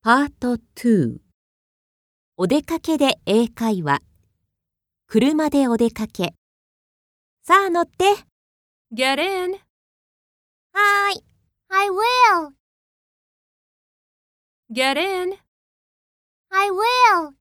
パート2。お出かけで英会話。車でお出かけ。さあ乗って。 Get in. はーい。I will. Get in. I will.